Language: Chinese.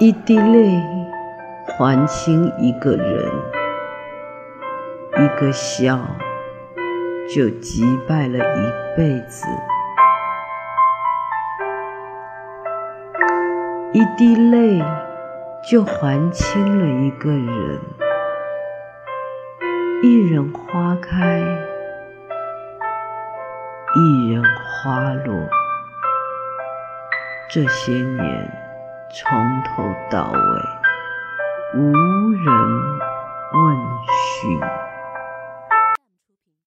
一滴淚還清一個人，一個笑就擊敗了一輩子。一滴淚就還清了一個人，一人花開，一人花落。這些年從頭到尾無人問訊。